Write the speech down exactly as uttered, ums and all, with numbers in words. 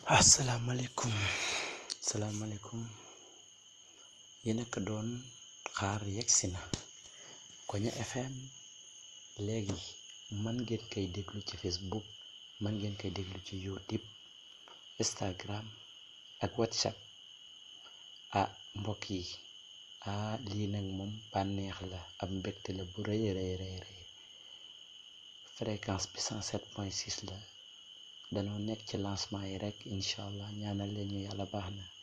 asalaamaaleykum asalaamaaleykum yéen a ko doon xaar yegsi na Koña F M léegi man ngeen koy déglu ci Facebook man ngeen koy déglu ci YouTube Instagram ak WhatsApp ah mbokk yi ah lii nag moom bànneex la ab mbégte la bu rëy rëy rëy rëy fréquence bi cent sept point six la danoo nekk ci lancement yi rek incha allah ñaanal leen ñu yàlla baax na.